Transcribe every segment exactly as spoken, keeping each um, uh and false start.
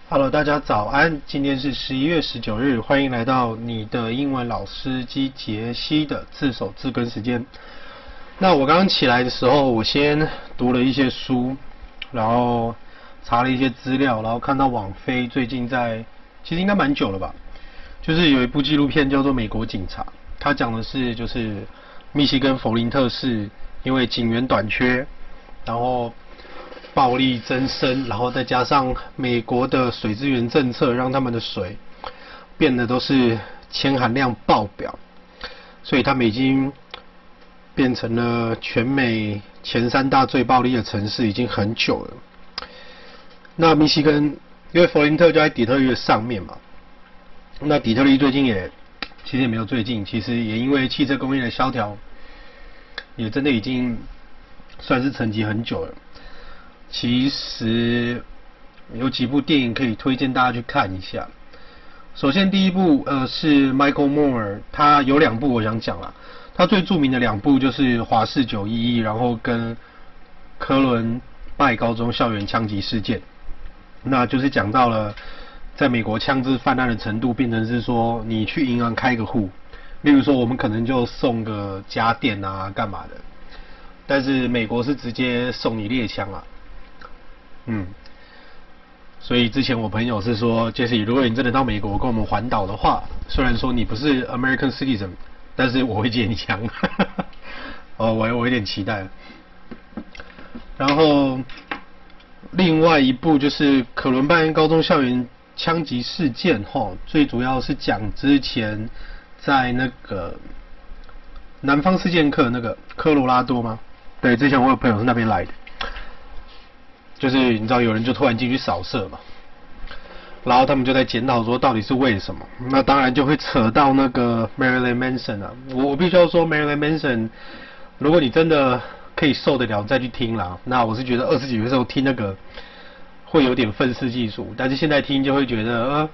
Hello， 大家早安！今天是十一月十九日，歡迎來到你的英文老師機傑西的字首字根時間。那我剛剛起來的時候，我先讀了一些書，然後查了一些資料，然後看到網飛最近在，其實應該蠻久了吧，就是有一部紀錄片叫做《美國警察》，它講的是就是密西根佛林特市因為警員短缺，然後暴力增生，然後再加上美國的水資源政策，讓他們的水變得都是鉛含量爆表，所以他們已經變成了全美前三大最暴力的城市，已經很久了。那密西根，因為佛林特就在底特律的上面嘛，那底特律最近也其實也沒有最近，其實也因為汽車工業的蕭條，也真的已經算是沉寂很久了。其實有幾部電影可以推薦大家去看一下。首先第一部呃是 Michael Moore， 他有兩部我想講啦。他最著名的兩部就是華氏九一一，然後跟科倫拜高中校園槍擊事件。那就是講到了在美國槍支氾濫的程度，變成是說你去銀行開個戶，例如說我們可能就送個家電啊幹嘛的，但是美國是直接送你獵槍啊。嗯，所以之前我朋友是說，傑西，如果你真的到美國跟我們環島的話，雖然說你不是 American citizen， 但是我會借你槍。哦，我我有點期待。然後另外一部就是可倫拜恩高中校園槍擊事件，齁，最主要是講之前在那個南方四劍客那個科羅拉多嗎？對，之前我有朋友是那邊來的。就是你知道有人就突然進去掃射嘛，然後他們就在檢討說到底是為什麼，那當然就會扯到那個 Marilyn Manson 啊，我我必須要說 Marilyn Manson， 如果你真的可以受得了再去聽啦，那我是覺得二十幾歲的時候聽那個會有點憤世嫉俗，但是現在聽就會覺得呃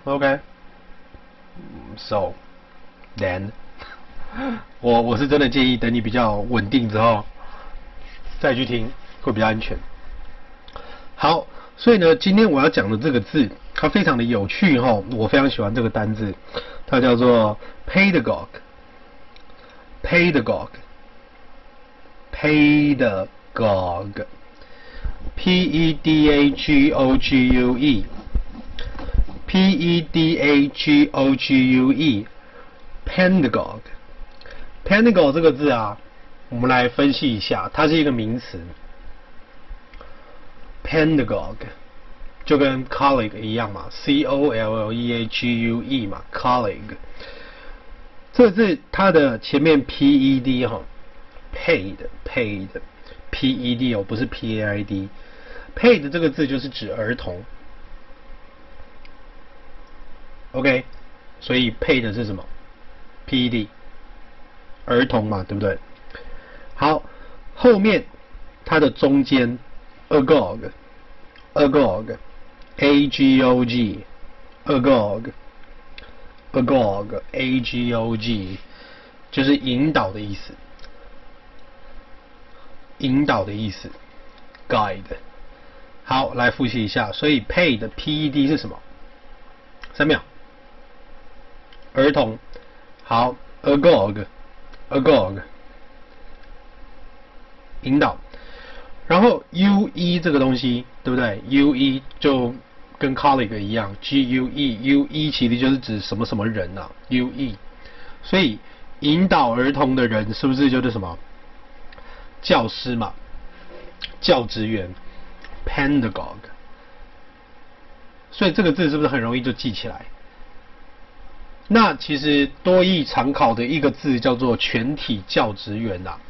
OK，so then 我我是真的建議等你比較穩定之後再去聽會比較安全。好，所以呢，今天我要講的這個字，它非常的有趣齁，我非常喜歡這個單字，它叫做 pedagogue，pedagogue，pedagogue，p e d a g o g u e，p e d a g o g u e，pedagogue，pedagogue 这個字啊，我們來分析一下，它是一個名詞。Pedagogue 就跟 colleague 一樣嘛 ，C O L L E A G U E 嘛 ，colleague。這個字它的前面 P E D 哈 ，paid paid P E D 哦，不是 P A I D。paid 這個字就是指兒童。OK， 所以 paid 是什麼 ？P E D， 兒童嘛，對不對？好，後面它的中間。Agog, agog, A G O G, agog, agog, A G O G， 就是引導的意思，引導的意思 ，guide。好，來複習一下，所以 paid 的 P E D 是什麼？三秒。兒童。好 ，agog, agog， 引導。然後 U E 這個東西，對不對 ？U E 就跟 colleague 一樣 ，G U E，U E 其實就是指什麼什麼人啊 ，U E。所以引導兒童的人是不是就是什麼？教師嘛，教職員 ，pedagogue。所以這個字是不是很容易就記起來？那其實多益常考的一個字叫做全體教職員啊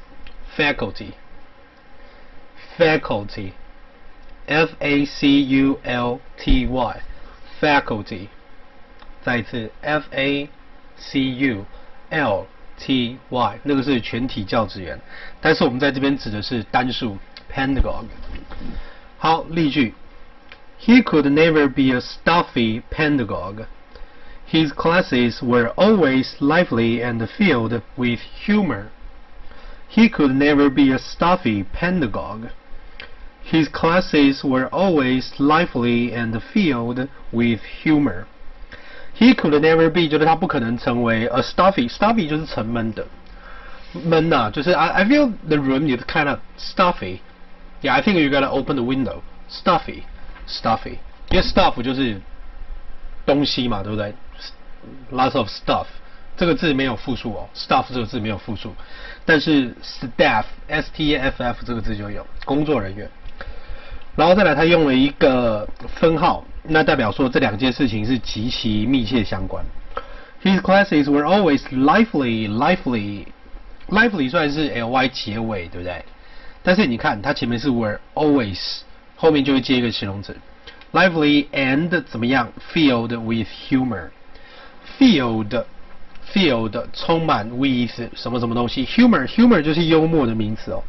，faculty。Faculty, F A C U L T Y, faculty。再一次 ，F A C U L T Y， 那個是全體教職員，但是我們在這邊指的是單數 pedagogue。好，例句 ：He could never be a stuffy pedagogue. His classes were always lively and filled with humor. He could never be a stuffy pedagogue. His classes were always lively and filled with humor. He could never be 就是他不可能成为 a stuffy stuffy 就是沉悶的悶吶、啊，就是 I I feel the room is kind of stuffy. Yeah, I think you gotta open the window. Stuffy, stuffy. 因為 stuff 就是東西嘛，對不對 ？Lots of stuff. 這個字沒有複數哦 ，stuff 這個字沒有複數，但是 staff, S T A F F 這個字就有，工作人員。然後再來，他用了一個分號，那代表說這兩件事情是極其密切相關。His classes were always lively, lively, lively 算是 ly 結尾，對不對？但是你看，它前面是 were always， 後面就會接一個形容詞 ，lively and 怎麼樣 ？Filled with humor，filled filled 充滿 with 什麼什麼東西 ，humor humor 就是幽默的名詞哦。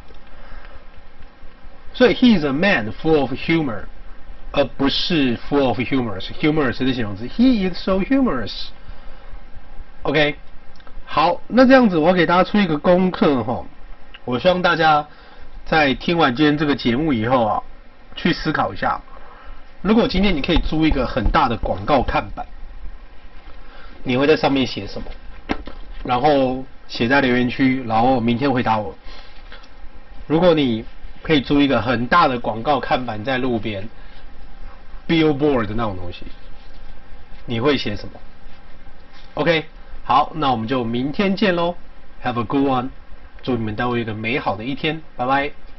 所以 he is a man full of humor， 而不是 full of humorous。humorous 是形容詞 ，he is so humorous。OK， 好，那這樣子我要給大家出一個功課哈，我希望大家在聽完今天這個節目以後啊，去思考一下，如果今天你可以租一個很大的廣告看板，你會在上面寫什麼？然後寫在留言區，然後明天回答我。如果你可以租一個很大的廣告看板在路邊 ，billboard 的那種東西，你會寫什麼 ？OK， 好，那我們就明天見嘍 ，Have a good one， 祝你們都有一個美好的一天，拜拜。